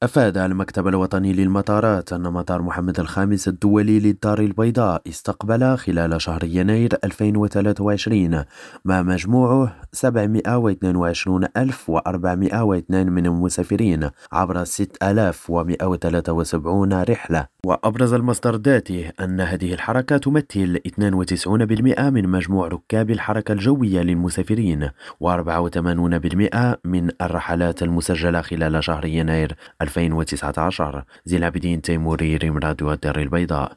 أفاد المكتب الوطني للمطارات أن مطار محمد الخامس الدولي للدار البيضاء استقبل خلال شهر يناير 2023 ما مجموعه 722,402 من المسافرين عبر 6173 رحلة. وأبرز المصدر ذاته أن هذه الحركة تمثل 92% من مجموع ركاب الحركة الجوية للمسافرين، و84% من الرحلات المسجلة خلال شهر يناير 2019. زين العابدين تيموري، ريم راديو الدار البيضاء.